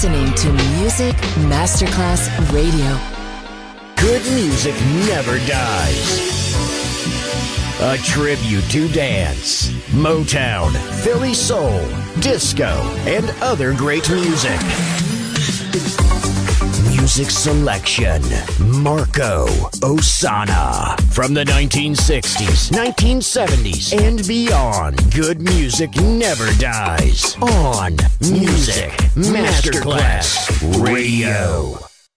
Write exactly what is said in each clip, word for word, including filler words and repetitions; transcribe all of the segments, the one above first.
listening to Music Masterclass Radio. Good music never dies. A tribute to dance, Motown, Philly soul, disco, and other great music. Music selection, Marco Ossanna. From the nineteen sixties, nineteen seventies, and beyond, good music never dies. On Music Masterclass Radio.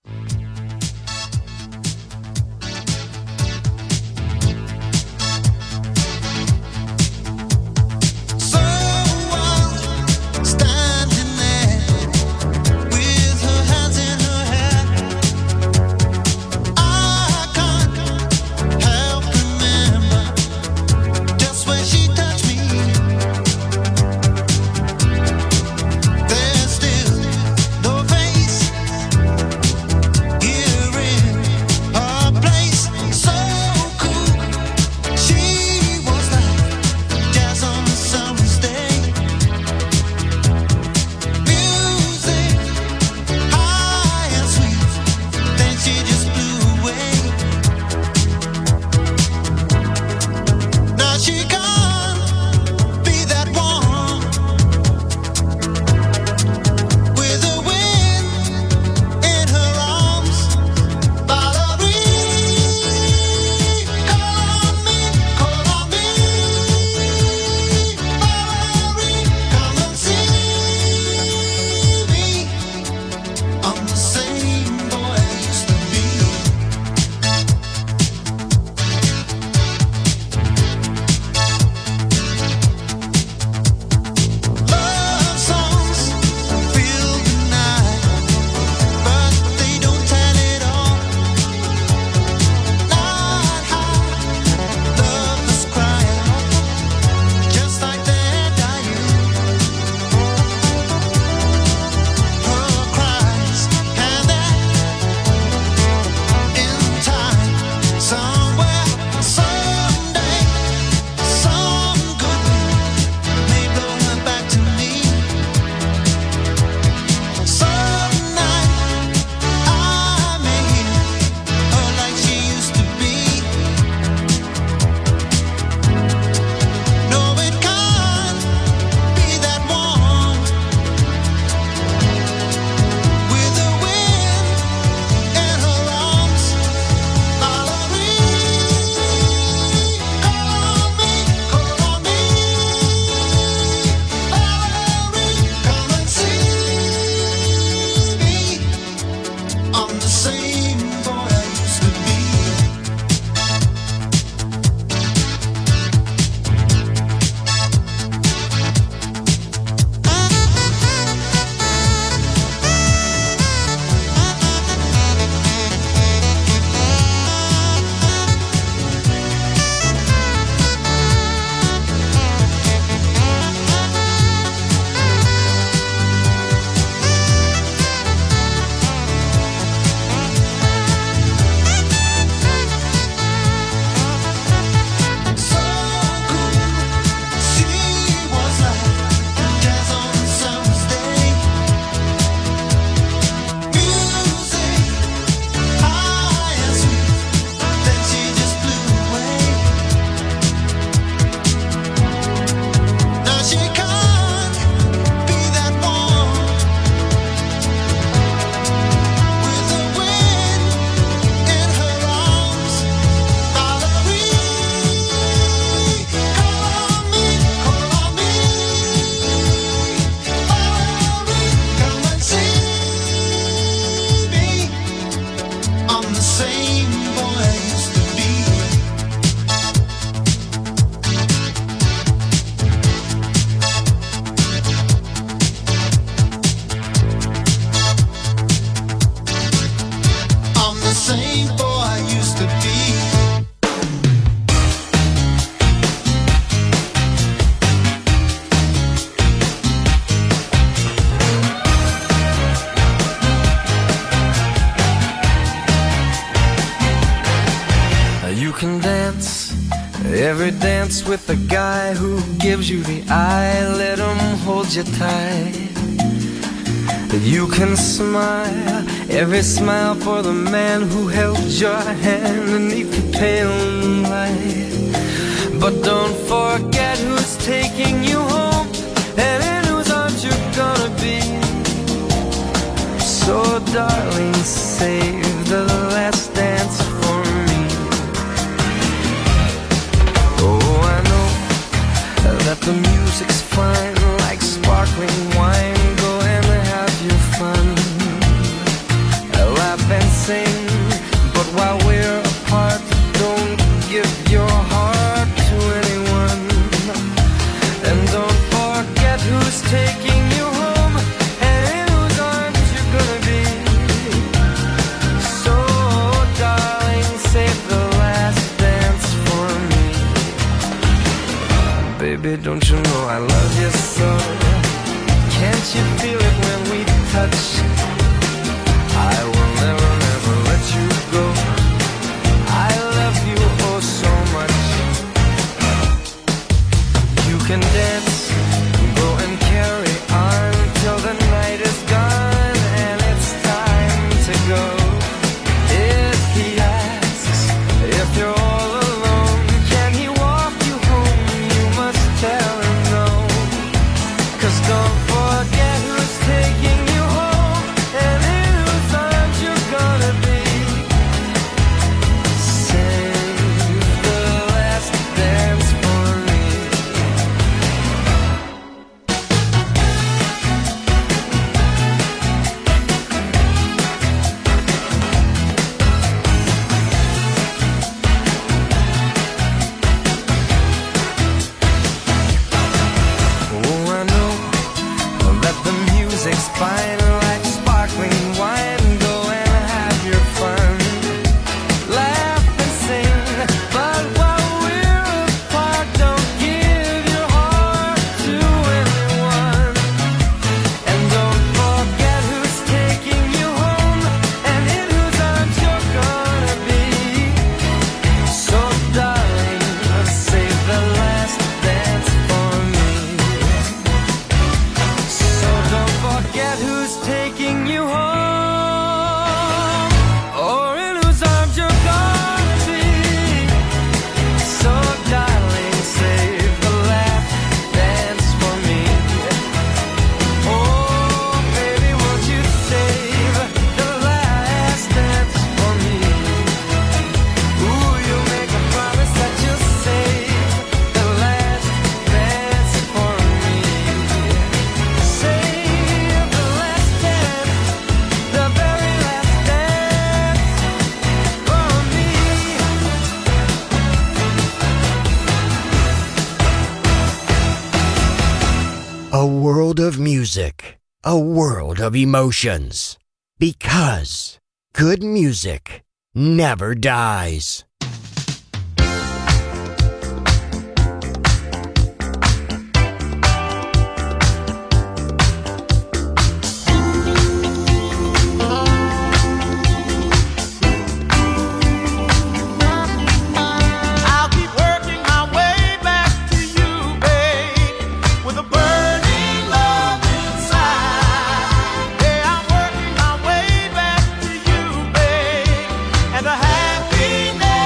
Every dance with the guy who gives you the eye, let him hold you tight. You can smile, every smile for the man who held your hand beneath the pale moonlight. But don't forget who's taking you home and in whose arms you're gonna be. So darling, save the last dance for me. Oh, I know that the music's fine, like sparkling wine. Go and have your fun, laugh and sing. But while we're apart, don't give your heart to anyone. And don't forget who's taking you home and in whose arms you're gonna be. So darling, save the last dance for me. Baby, don't you know I love you so? Can't you feel it when we touch? I will never, never let you go. I love you oh so much. You can dance, go and carry on till the night is gone and it's time to go. If he asks if you're all alone, can he walk you home? You must tell him no. 'Cause don't forget who's taking you home and in whose arms you're gonna be. Save the last dance for me. Oh, I know that the music's fine, like sparkling wine. Go and have your fun, laugh and sing. But while we're apart, don't give your heart to anyone. And don't forget who's taking you home and in whose arms you're gonna be. So darling, save the last dance for me. So don't forget who's taking you home or in whose arms you're gonna be. So darling, save the last dance for me. Oh baby, won't you save the last dance for me? Ooh, you make a promise that you'll save the last dance for me. Save the last dance, the very last dance for me. A world of music, a world of emotions. Because good music never dies. I'll keep working my way back to you, babe, with a burning love inside. Yeah, I'm working my way back to you, babe, and the happiness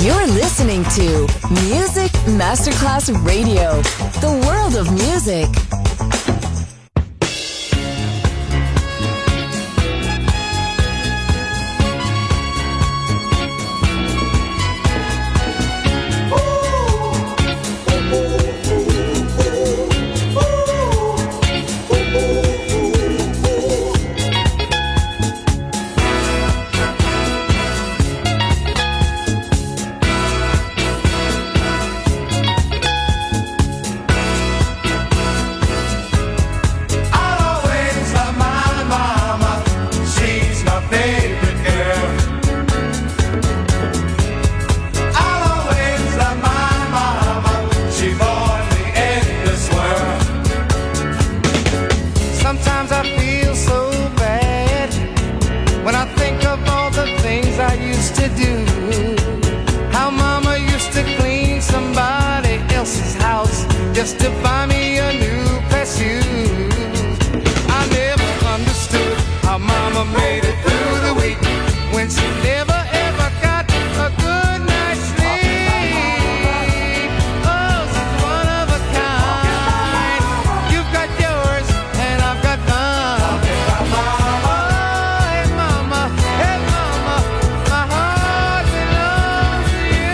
You're listening to Music Masterclass Radio, the world of music. Just to buy me a new pair of shoes. I never understood how mama made it through the week when she never ever got a good night's sleep. Oh, she's one of a kind. You've got yours and I've got mine. Oh, hey mama, hey mama, my heart belongs to you.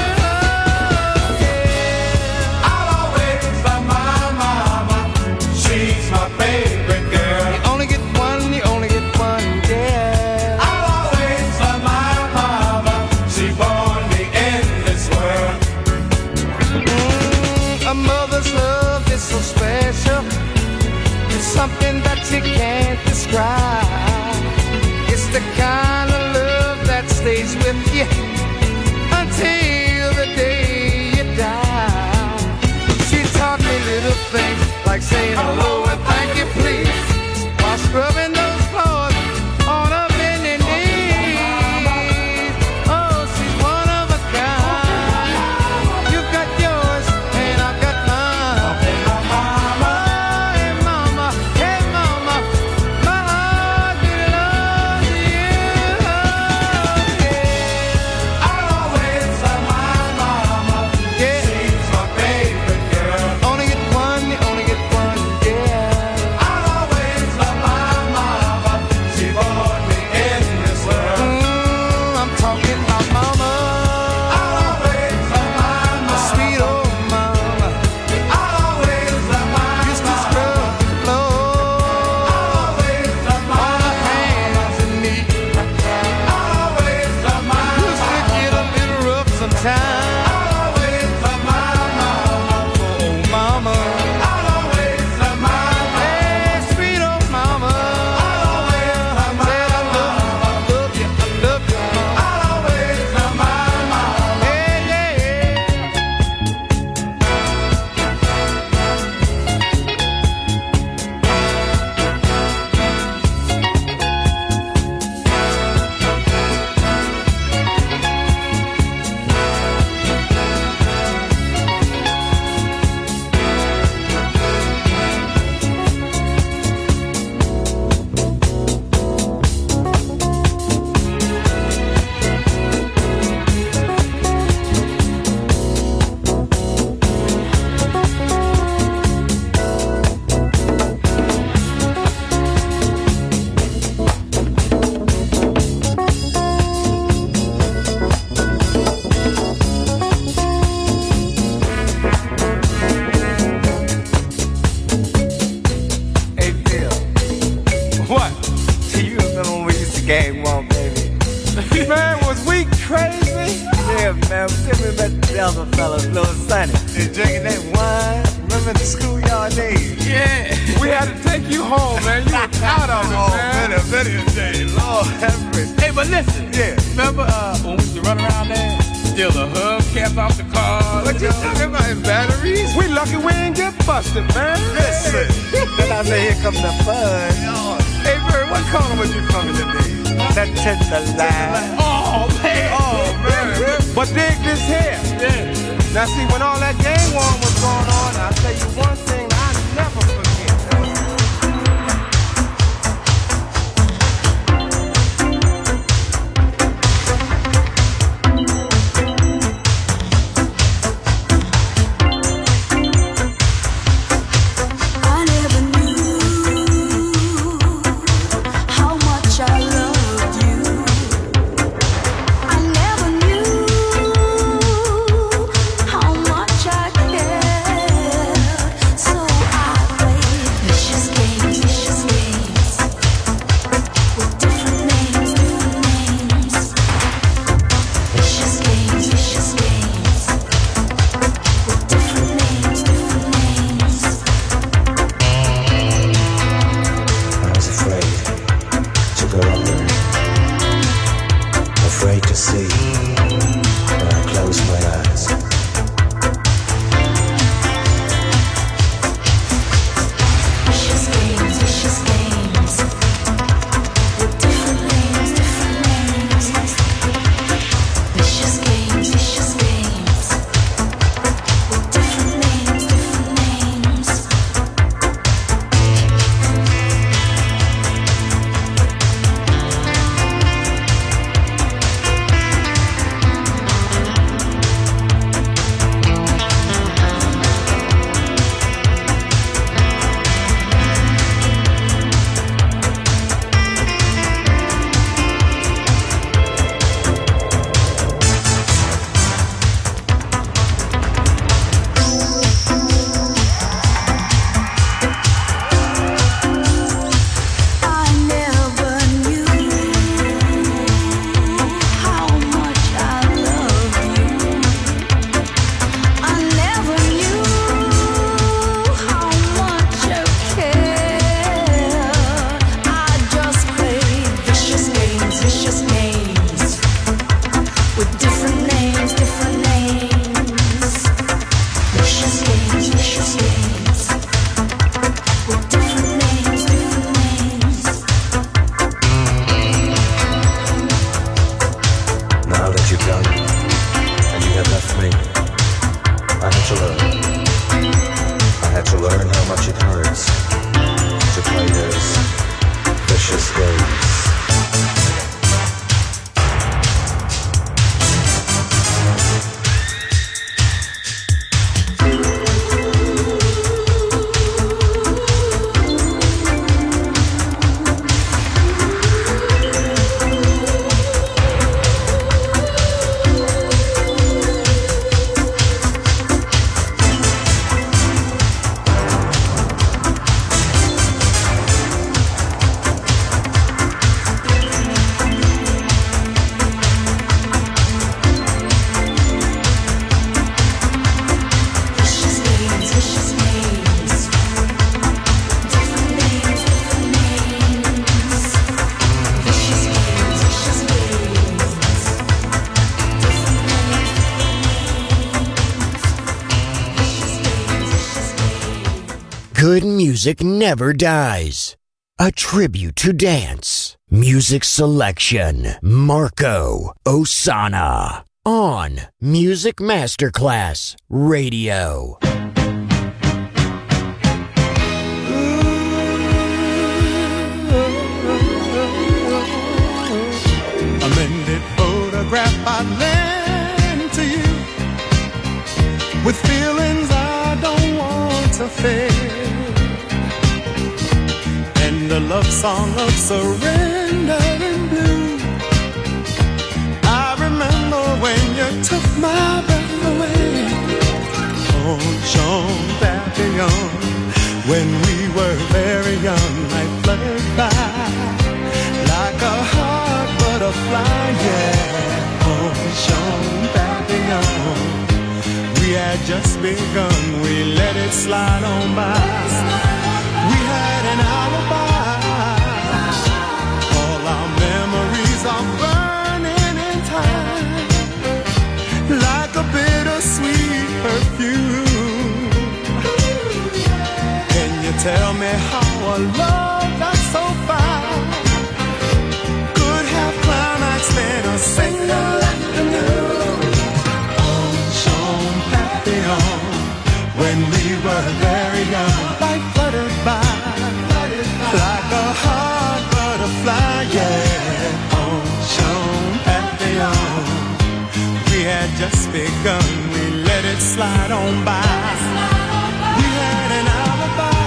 Yeah. I'll always love my mama. She's my favorite girl. You only get one, you only get one, yeah. I'll always love my mama. She born me in this world. Mm, a mother's love is so special. It's something that you can't describe. It's the kind of love that stays with you until the day you die. She taught me little things like saying hello and thank you please while scrubbing those floors on her bending knees. Oh, she's one of a kind. You've got yours and I've got mine. Oh, hey mama, hey mama, my heart belongs to you. Yeah. I'll always love my mama. Yeah. She's my favorite girl. Only get one, you only get one, yeah. I'll always love my mama. She brought me in this world. Mm, I'm talking about mama. I'll always love my mama. Sweet old mama. I'll always love my mama. Used to scrub the floor. I'll always love my mama. On her hands and knees. I'll always love my mama. Used to get a little rough sometimes. I'll always love my mama. Oh, mama. I'll always love my mama. Hey, sweet old mama. I'll always love my mama. I love you, I love you, mama. I'll always love my mama. Hey, yeah, yeah. Hey, Bill. What? Do you remember when we used to game one, baby? Man, was we crazy? Yeah, man. Tell me about the other fellas, little Sonny. They drinking that wine. Remember the schoolyard days? Yeah. We had to take you home, man. You were out of it, man. Oh, better, better day. Lord have mercy. Hey, but listen. Yeah. Remember uh, when we used to run around there? Steal the hubcaps off the cars. What you talking about in batteries? We lucky we ain't get busted, man. Listen. Then I say, here comes the fun. Hey, Bird, what color was you from today? That tender line. Oh, man. Oh, man. But dig this here. Yeah. Now, see, when all that gang war was going on, I'll tell you one thing I never forget. good music never dies. A tribute to dance. Music selection, Marco Ossanna. On Music Masterclass Radio. A mended photograph I lend to you, with feelings I don't want to fade, and a love song of surrender in blue. I remember when you took my breath away. Oh, Jean Papillon, when we were very young, I fluttered by like a heart butterfly, yeah. Oh, Jean Papillon, we had just begun, we let it slide on by. We had an alibi, all our memories are burning in time, like a bittersweet perfume. Can you tell me how a love that's so fine could have climaxed in a single afternoon? Oh, Jean Papillon, when we were very young, life fluttered by like a heart butterfly, yeah. Oh, Jean Papillon, we had just begun, we let it slide on by. We had an alibi.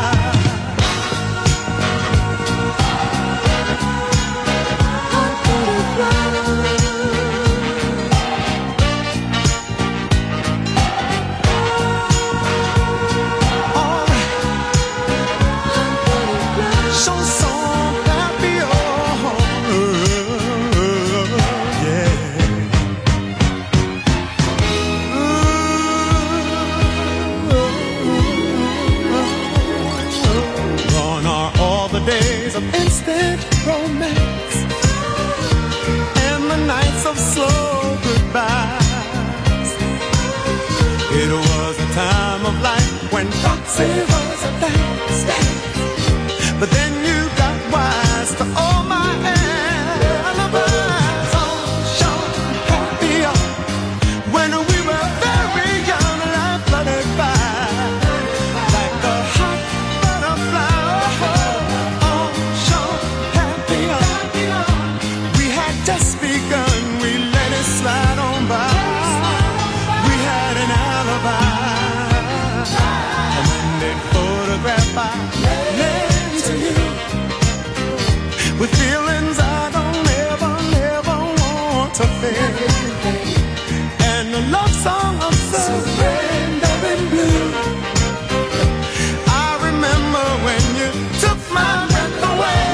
Of instant romance and the nights of slow goodbyes. It was a time of life when proxy was a dance, but then you got wise to all my alibis. Oh, Jean Papillon, when we were very young, life fluttered by like a hot butterfly. Just begun, we let it slide on by. We had an alibi. A mended photograph I lent to you, with feelings I don't ever, never want to fade, and a love song of surrender in blue. I remember when you took my breath away.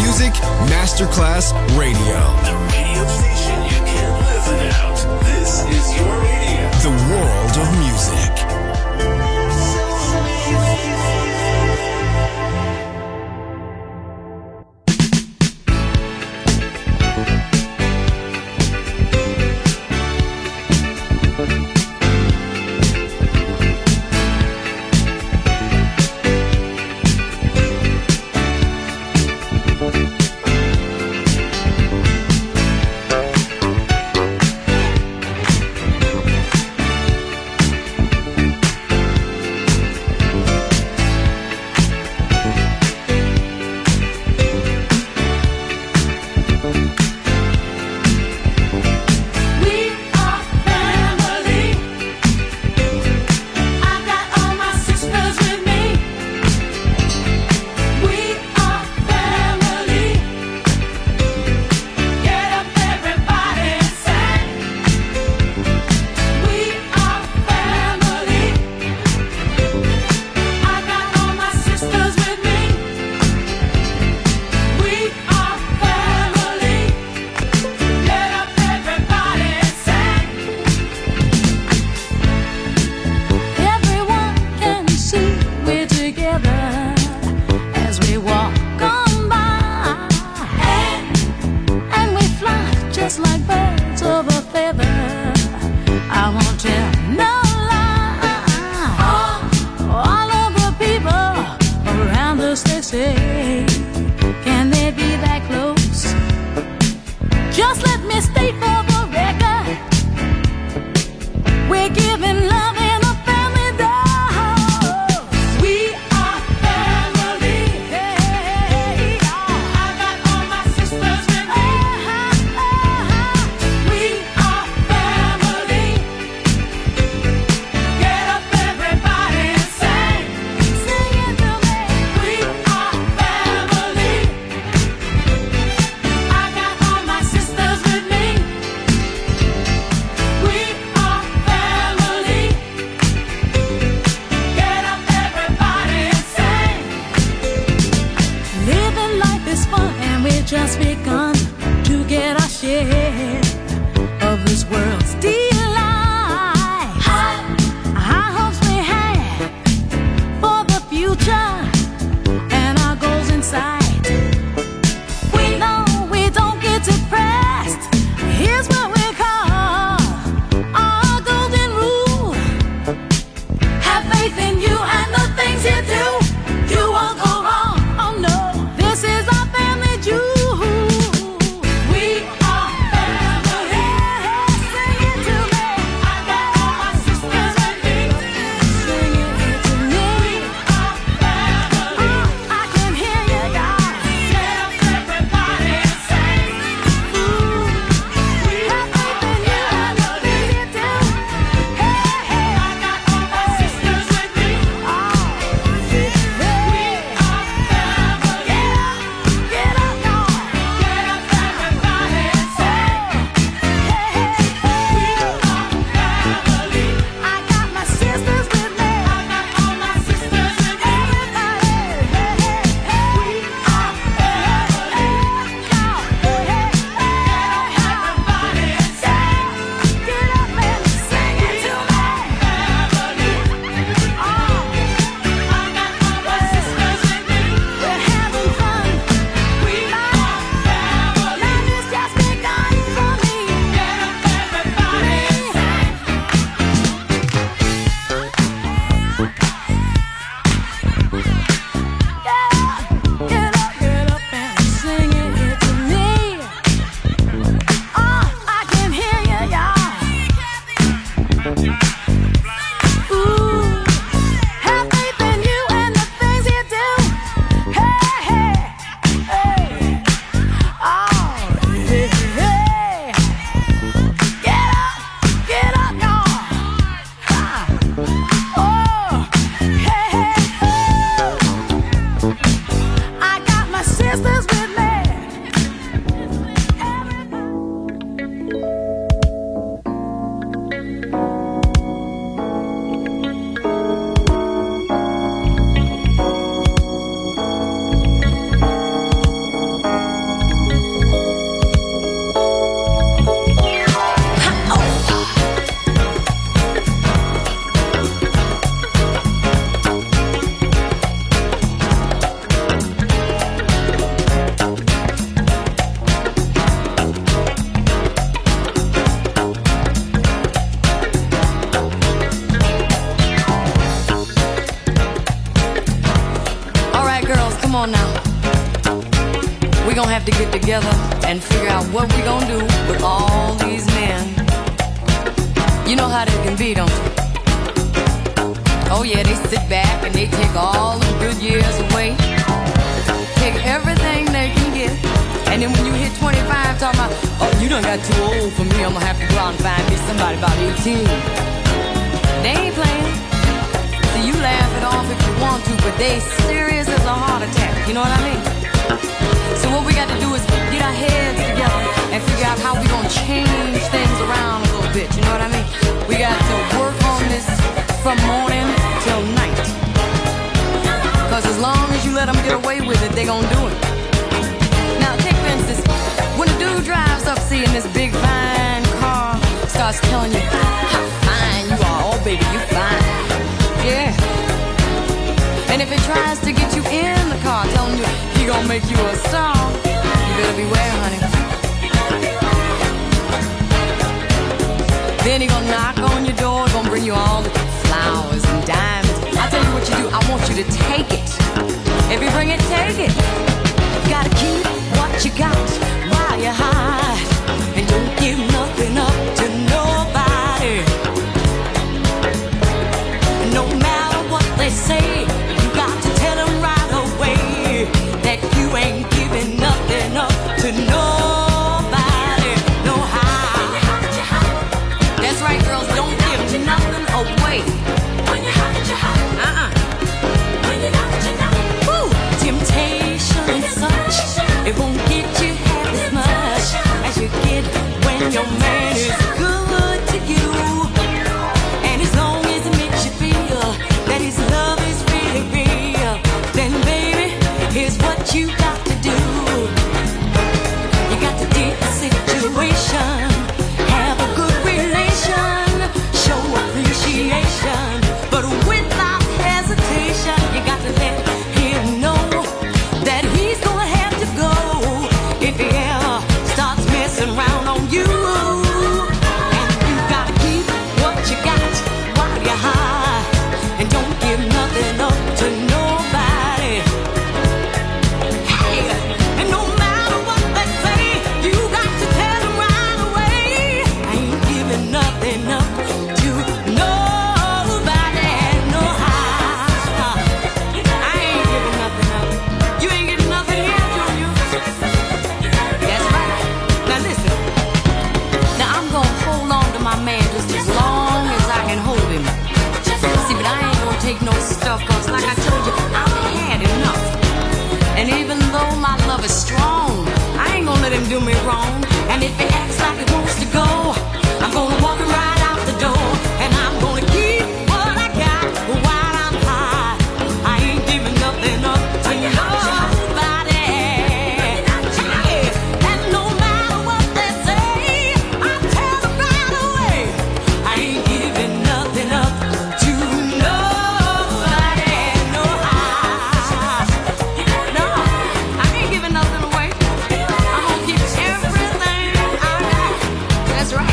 Music Masterclass Radio. The radio station you can't live without. This is your radio. The world of music. You won't go wrong. Oh no, this is our family jewel. gonna have to get together and figure out what we gonna do with all these men. You know how they can be, don't you? Oh yeah, they sit back and they take all the good years away. Take everything they can get. And then when you hit twenty-five, talking about, oh, you done got too old for me, I'm gonna have to go out and find me somebody about eighteen. They ain't playing. So you laugh it off if you want to, but they serious as a heart attack, you know what I mean? So what we got to do is get our heads together and figure out how we gonna change things around a little bit, you know what I mean? We got to work on this from morning till night. Cause as long as you let them get away with it, they gonna do it. Now take for instance, when a dude drives up seeing this big fine car, starts telling you how fine you are, oh baby, you fine. Yeah. And if it tries to get you in the car, telling you he gonna make you a star, you better beware, honey. Then he gonna knock on your door, gonna bring you all the flowers and diamonds. I tell you what you do, I want you to take it. If you bring it, take it. Gotta keep what you got while you're high, and don't give nothing up to nobody. No matter what they say, you got to tell them right away that you ain't giving nothing up to nobody. No how. That's right, girls, don't give nothing away. When you hot, you hot. Uh-uh. When you not, you not. Woo! Temptation and such, it won't get you half as much as you get when your man is good to you. And as long as it makes you feel that his love is really real, then baby, here's what you got to do. You got to dig the situation, have a good relation, show appreciation, but without hesitation, you got to let him know that he's gonna have to go if he ever starts messing around on you. And you gotta keep what you got while you're high, and don't give nothing up to nobody. Hey, and no matter what they say, you got to tell them right away, I ain't giving nothing up to nobody. No how, I ain't giving nothing up. You ain't getting nothing here, Junior. That's right. Now listen. Now I'm gonna hold on to my man just as long as I can hold him. See, but I ain't gonna take no stuff, cause like I told you, I've had enough. And even though my love is strong, I ain't gonna let him do me wrong. And if he acts like he wants to go, I'm gonna walk him right out the door. And I'm gonna keep what I got while I'm high. I ain't giving nothing up to nobody. Yeah. And no matter what they say, I tell them right away, I ain't giving nothing up to nobody. No how. No, I ain't giving nothing away. I'm gonna keep everything I got. That's right.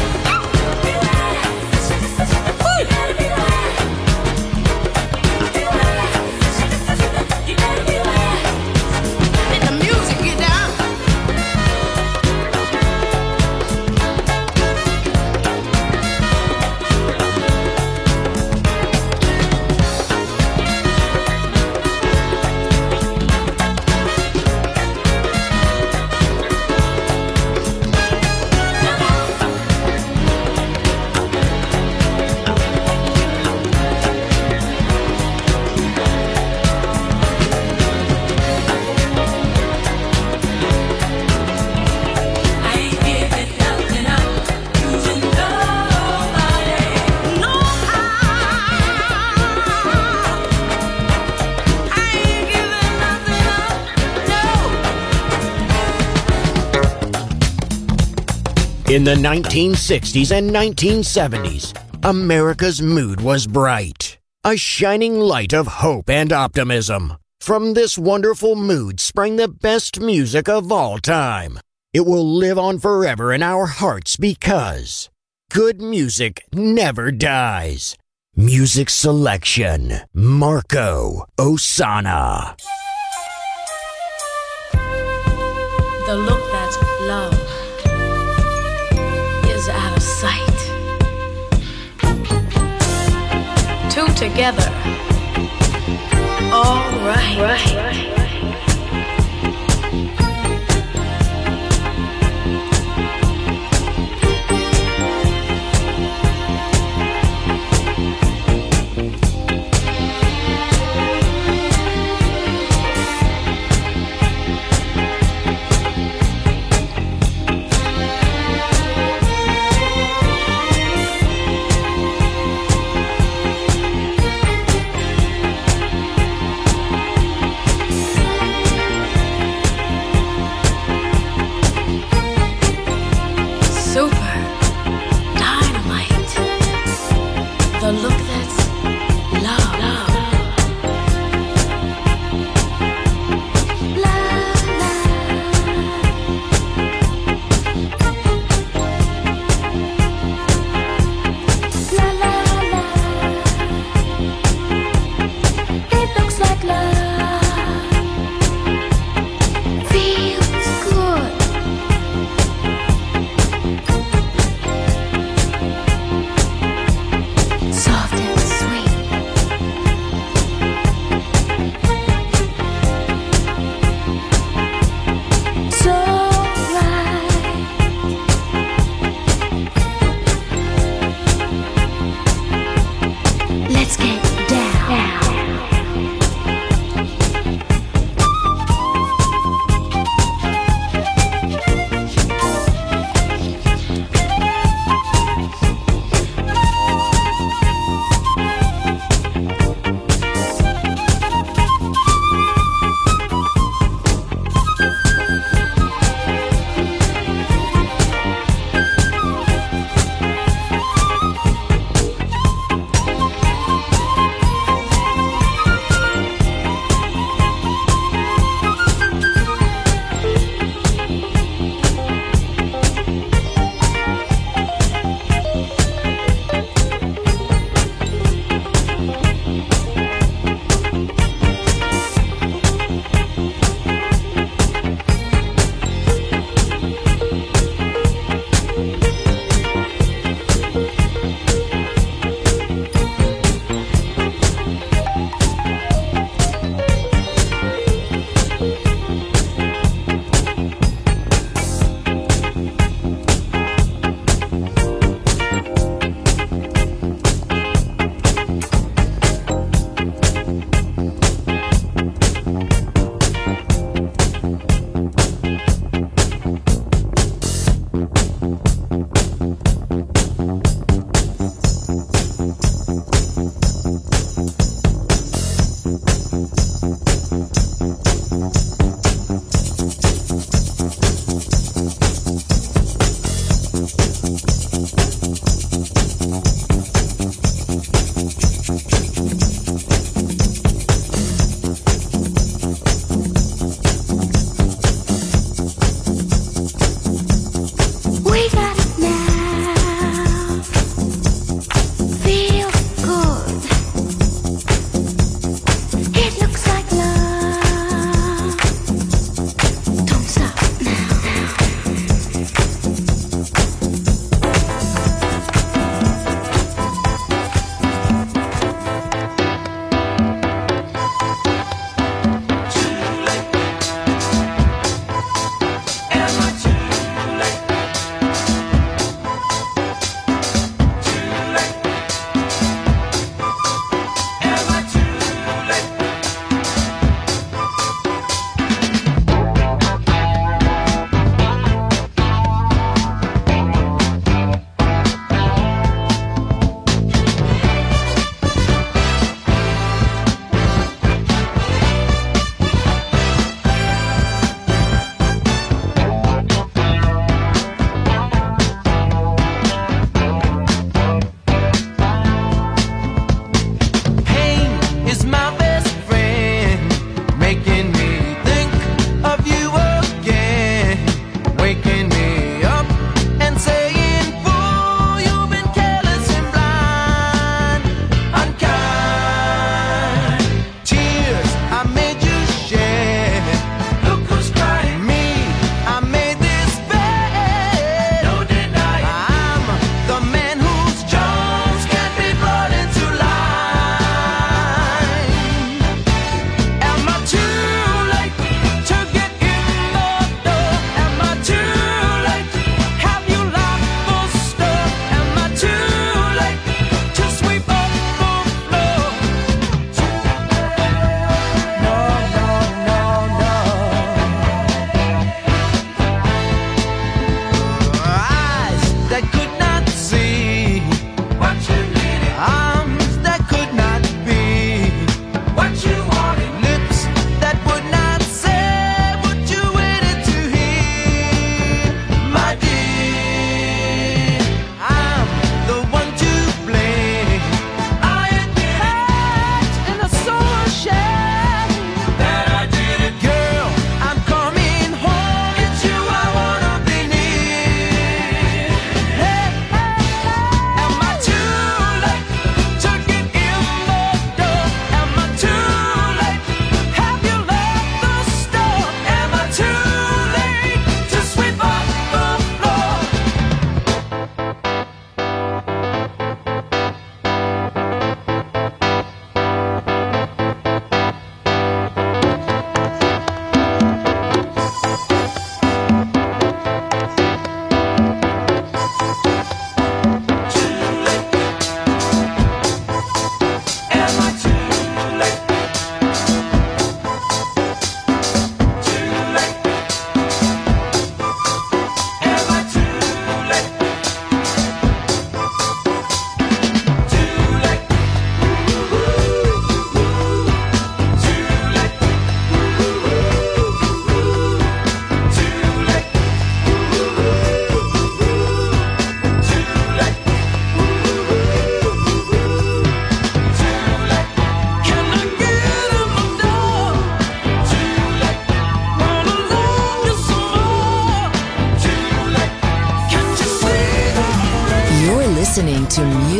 Let the music get down. I ain't giving nothing up to nobody. No how. I ain't giving nothing up. No. In the nineteen sixties and nineteen seventies, America's mood was bright, a shining light of hope and optimism. From this wonderful mood sprang the best music of all time. It will live on forever in our hearts because good music never dies. Music selection, Marco Ossanna. the look that's love is out of sight. Two together, all right. right.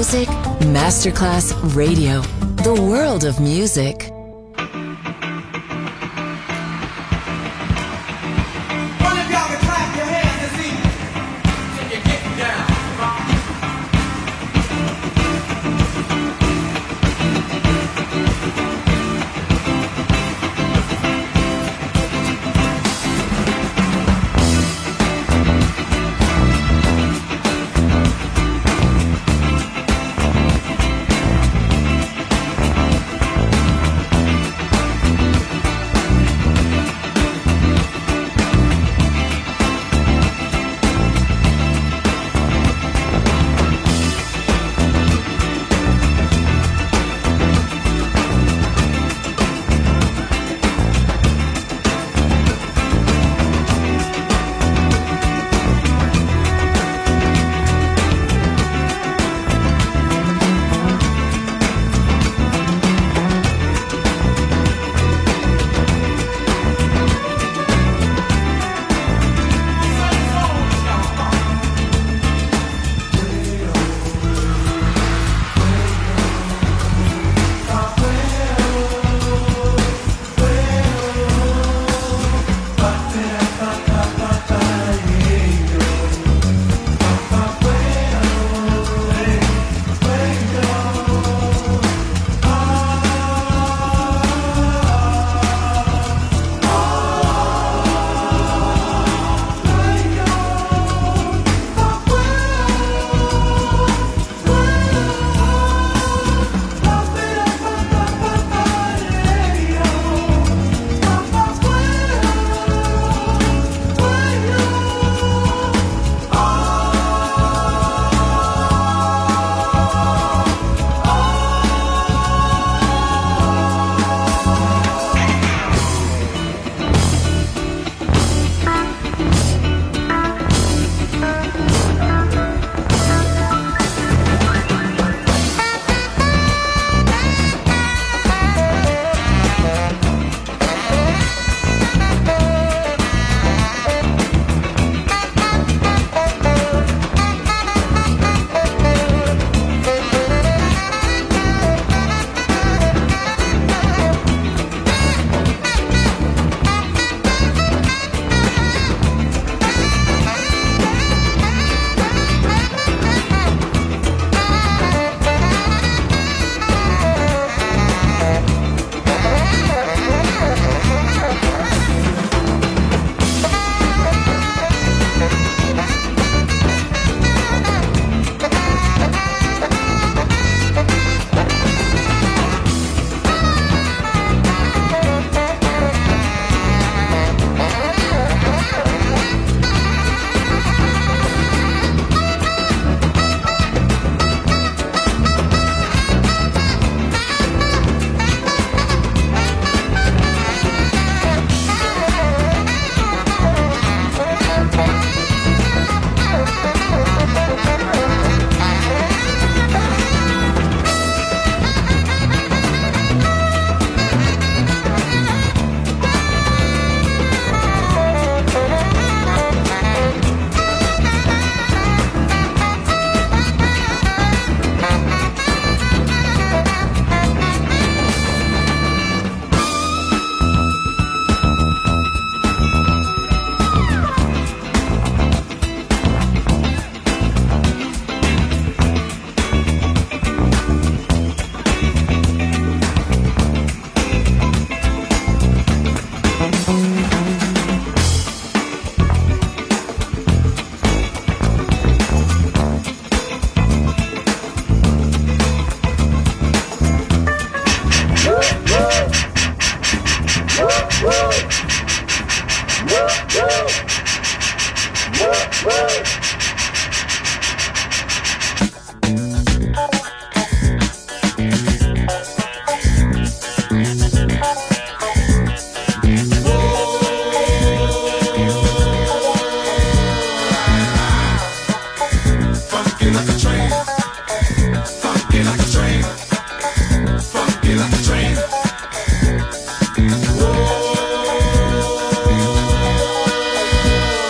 Music Masterclass Radio. The world of music.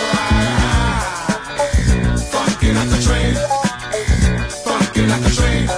like a train.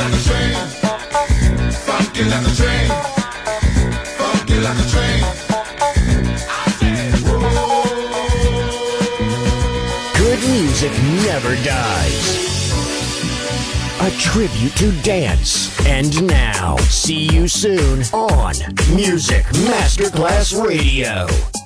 like a train. Funky like a train. Funky like a train. Good music never dies. A tribute to dance. And now, see you soon on Music Masterclass Radio.